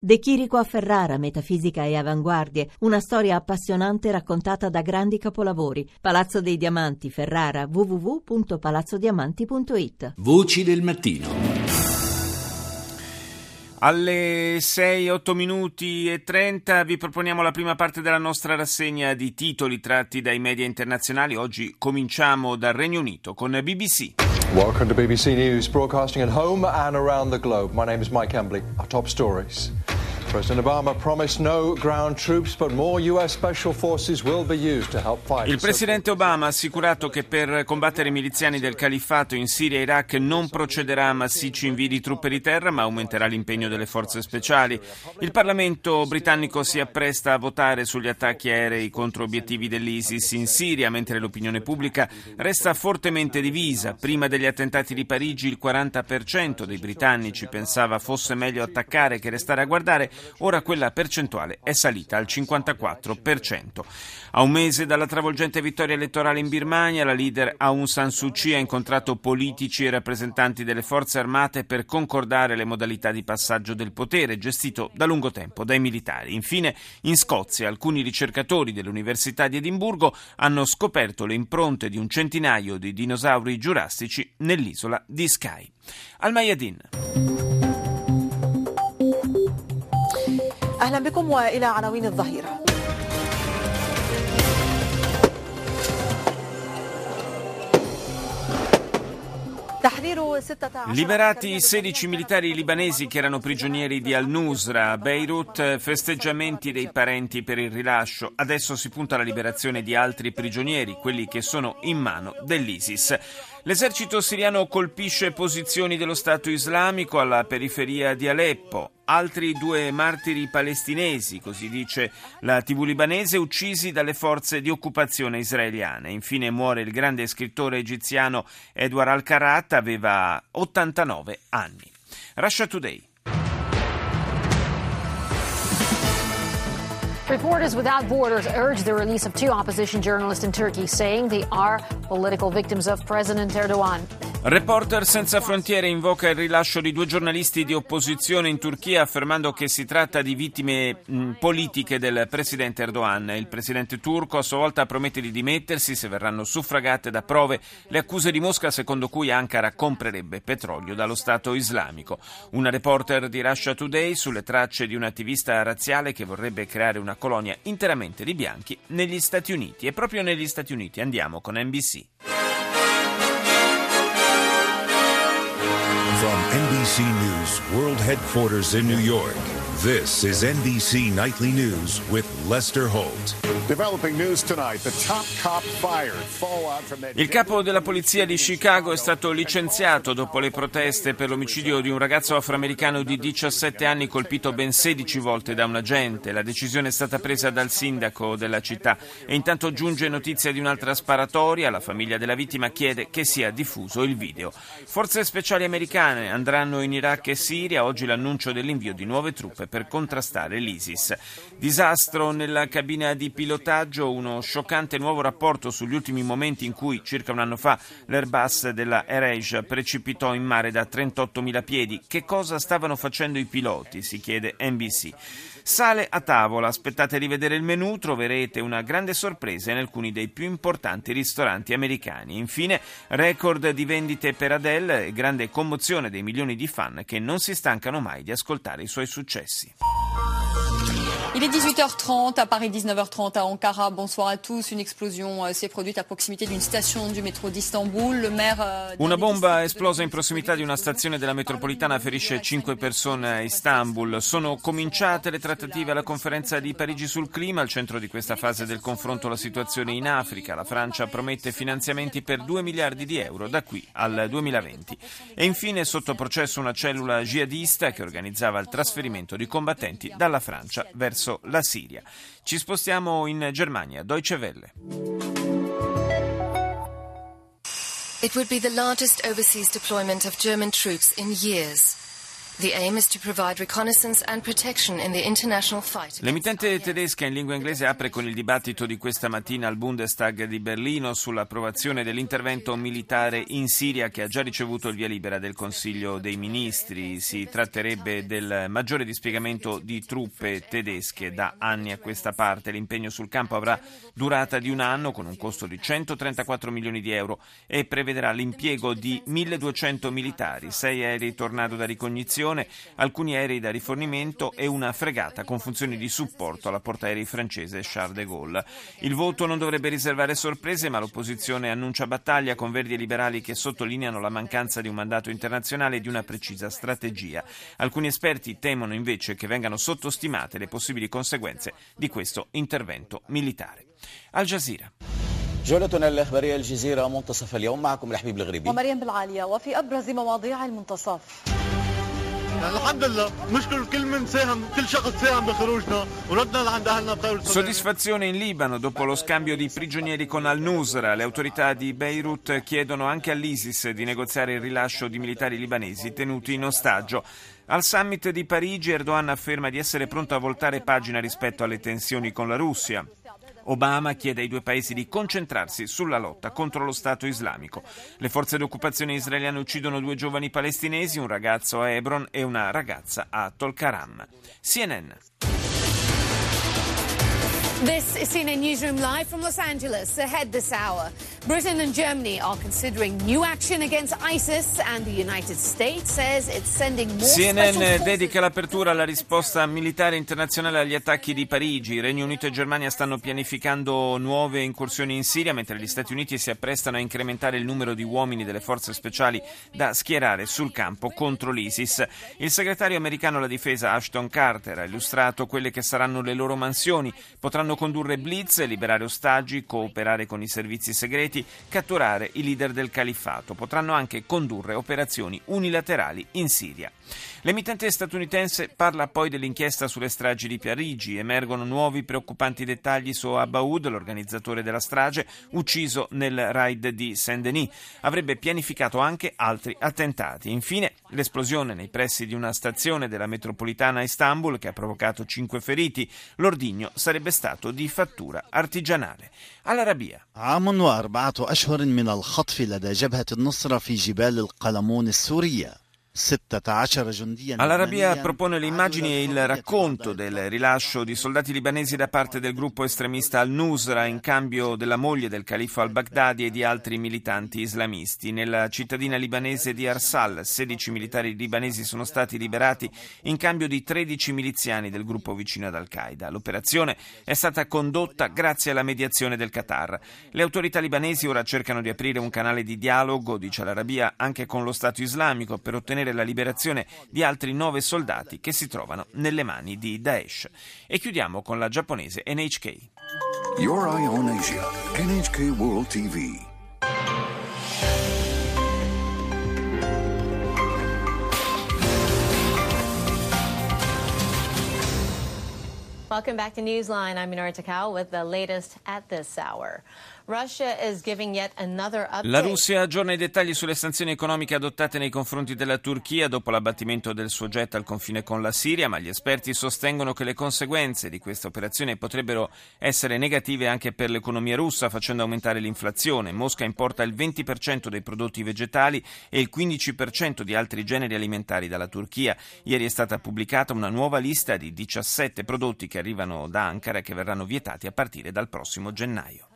De Chirico a Ferrara, metafisica e avanguardie, una storia appassionante raccontata da grandi capolavori. Palazzo dei Diamanti, Ferrara, www.palazzodiamanti.it. Voci del mattino. Alle 6:08:30 vi proponiamo la prima parte della nostra rassegna di titoli tratti dai media internazionali. Oggi cominciamo dal Regno Unito con BBC. Welcome to BBC News, broadcasting at home and around the globe. My name is Mike Embley. Our top stories. President Obama promised no ground troops, but more US special forces will be used to help fight. Il presidente Obama ha assicurato che per combattere i miliziani del califfato in Siria e Iraq non procederà a massicci invii di truppe di terra, ma aumenterà l'impegno delle forze speciali. Il Parlamento britannico si appresta a votare sugli attacchi aerei contro obiettivi dell'ISIS in Siria, mentre l'opinione pubblica resta fortemente divisa. Prima degli attentati di Parigi il 40% dei britannici pensava fosse meglio attaccare che restare a guardare. Ora quella percentuale è salita al 54%. A un mese dalla travolgente vittoria elettorale in Birmania, la leader Aung San Suu Kyi ha incontrato politici e rappresentanti delle forze armate per concordare le modalità di passaggio del potere, gestito da lungo tempo dai militari. Infine, in Scozia, alcuni ricercatori dell'Università di Edimburgo hanno scoperto le impronte di un centinaio di dinosauri giurassici nell'isola di Skye. Al Mayadin. أهلا بكم وإلى عناوين الظهيرة. Liberati 16 militari libanesi che erano prigionieri di al-Nusra a Beirut, festeggiamenti dei parenti per il rilascio. Adesso si punta alla liberazione di altri prigionieri, quelli che sono in mano dell'ISIS. L'esercito siriano colpisce posizioni dello Stato islamico alla periferia di Aleppo. Altri 2 martiri palestinesi, così dice la TV libanese, uccisi dalle forze di occupazione israeliane. Infine muore il grande scrittore egiziano Edward al-Karat, aveva 89 anni. Russia Today. Reporters Without Borders urge the release of 2 opposition journalists in Turkey, saying they are political victims of President Erdogan. Reporter Senza Frontiere invoca il rilascio di 2 giornalisti di opposizione in Turchia, affermando che si tratta di vittime politiche del presidente Erdogan. Il presidente turco a sua volta promette di dimettersi se verranno suffragate da prove le accuse di Mosca, secondo cui Ankara comprerebbe petrolio dallo Stato islamico. Una reporter di Russia Today sulle tracce di un attivista razziale che vorrebbe creare una colonia interamente di bianchi negli Stati Uniti. E proprio negli Stati Uniti andiamo con NBC. From NBC News World Headquarters in New York, this is NBC Nightly News with Lester Holt. Developing news tonight, the top cop fired. Fallout from that. Il capo della polizia di Chicago è stato licenziato dopo le proteste per l'omicidio di un ragazzo afroamericano di 17 anni colpito ben 16 volte da un agente. La decisione è stata presa dal sindaco della città e intanto giunge notizia di un'altra sparatoria. La famiglia della vittima chiede che sia diffuso il video. Forze speciali americane andranno in Iraq e Siria. Oggi l'annuncio dell'invio di nuove truppe per contrastare l'ISIS. Disastro nella cabina di pilotaggio, uno scioccante nuovo rapporto sugli ultimi momenti in cui, circa un anno fa, l'Airbus della AirAsia precipitò in mare da 38.000 piedi. Che cosa stavano facendo i piloti? Si chiede NBC. Sale a tavola, aspettate di vedere il menù, troverete una grande sorpresa in alcuni dei più importanti ristoranti americani. Infine, record di vendite per Adele e grande commozione dei milioni di fan che non si stancano mai di ascoltare i suoi successi. Il est 18h30, à Paris 19h30 à Ankara. Bonsoir à tous. Une explosion s'est produite à proximité d'une station du métro d'Istanbul. Le maire Una bomba esplosa in prossimità di una stazione della metropolitana ferisce 5 persone a Istanbul. Sono cominciate le trattative alla conferenza di Parigi sul clima. Al centro di questa fase del confronto la situazione in Africa. La Francia promette finanziamenti per 2 miliardi di euro da qui al 2020. E infine sotto processo una cellula jihadista che organizzava il trasferimento di combattenti dalla Francia verso la Siria. Ci spostiamo in Germania, Deutsche Welle. It would be the largest overseas deployment of German troops in years. The aim is to provide reconnaissance and protection in the international fight. L'emittente tedesca in lingua inglese apre con il dibattito di questa mattina al Bundestag di Berlino sull'approvazione dell'intervento militare in Siria che ha già ricevuto il via libera del Consiglio dei Ministri. Si tratterebbe del maggiore dispiegamento di truppe tedesche da anni a questa parte. L'impegno sul campo avrà durata di un anno con un costo di 134 milioni di euro e prevederà l'impiego di 1.200 militari, 6 aerei Tornado da ricognizione, alcuni aerei da rifornimento e una fregata con funzioni di supporto alla portaerei francese Charles de Gaulle. Il voto non dovrebbe riservare sorprese, ma l'opposizione annuncia battaglia con Verdi e Liberali che sottolineano la mancanza di un mandato internazionale e di una precisa strategia. Alcuni esperti temono invece che vengano sottostimate le possibili conseguenze di questo intervento militare. Al Jazeera. جولتنا الإخبارية الجزيرة منتصف اليوم معكم لحبيب الغريبي ومريم بالعالية وفي أبرز مواضيع المنتصف. الحمد لله نشكر كل من ساهم كل شخص ساهم بخروجنا وردنا لعند أهلنا بخير. Soddisfazione in Libano dopo lo scambio di prigionieri con al-Nusra. Le autorità di Beirut chiedono anche all'ISIS di negoziare il rilascio di militari libanesi tenuti in ostaggio. Al summit di Parigi Erdogan afferma di essere pronto a voltare pagina rispetto alle tensioni con la Russia. Obama chiede ai due paesi di concentrarsi sulla lotta contro lo Stato islamico. Le forze d'occupazione israeliane uccidono 2 giovani palestinesi, un ragazzo a Hebron e una ragazza a Tulkarm. CNN. This is CNN Newsroom live from Los Angeles. Ahead this hour, Britain and Germany are considering new action against ISIS and the United States says it's sending more CNN dedica l'apertura alla risposta militare internazionale agli attacchi di Parigi. Regno Unito e Germania stanno pianificando nuove incursioni in Siria, mentre gli Stati Uniti si apprestano a incrementare il numero di uomini delle forze speciali da schierare sul campo contro l'ISIS. Il segretario americano alla difesa Ashton Carter ha illustrato quelle che saranno le loro mansioni. Potranno condurre blitz, liberare ostaggi, cooperare con i servizi segreti, catturare i leader del califfato. Potranno anche condurre operazioni unilaterali in Siria. L'emittente statunitense parla poi dell'inchiesta sulle stragi di Parigi. Emergono nuovi preoccupanti dettagli su Abaoud, l'organizzatore della strage, ucciso nel raid di Saint-Denis. Avrebbe pianificato anche altri attentati. Infine, l'esplosione nei pressi di una stazione della metropolitana a Istanbul che ha provocato 5 feriti. L'ordigno sarebbe stato di fattura artigianale. All'Arabia. عام و4 أشهر من الخطف لدى جبهة النصرة في جبال القلمون السورية. All'Arabia propone le immagini e il racconto del rilascio di soldati libanesi da parte del gruppo estremista al-Nusra in cambio della moglie del califfo al-Baghdadi e di altri militanti islamisti. Nella cittadina libanese di Arsal 16 militari libanesi sono stati liberati in cambio di 13 miliziani del gruppo vicino ad Al-Qaeda. L'operazione è stata condotta grazie alla mediazione del Qatar. Le autorità libanesi ora cercano di aprire un canale di dialogo, dice l'Arabia, anche con lo Stato islamico per ottenere la liberazione di altri 9 soldati che si trovano nelle mani di Daesh. E chiudiamo con la giapponese NHK. Your Eye on Asia, NHK World TV. Welcome back to Newsline. I'm Minoru Takao with the latest at this hour. Russia is giving yet another update. La Russia aggiorna i dettagli sulle sanzioni economiche adottate nei confronti della Turchia dopo l'abbattimento del suo jet al confine con la Siria, ma gli esperti sostengono che le conseguenze di questa operazione potrebbero essere negative anche per l'economia russa, facendo aumentare l'inflazione. Mosca importa il 20% dei prodotti vegetali e il 15% di altri generi alimentari dalla Turchia. Ieri è stata pubblicata una nuova lista di 17 prodotti che arrivano da Ankara e che verranno vietati a partire dal prossimo gennaio.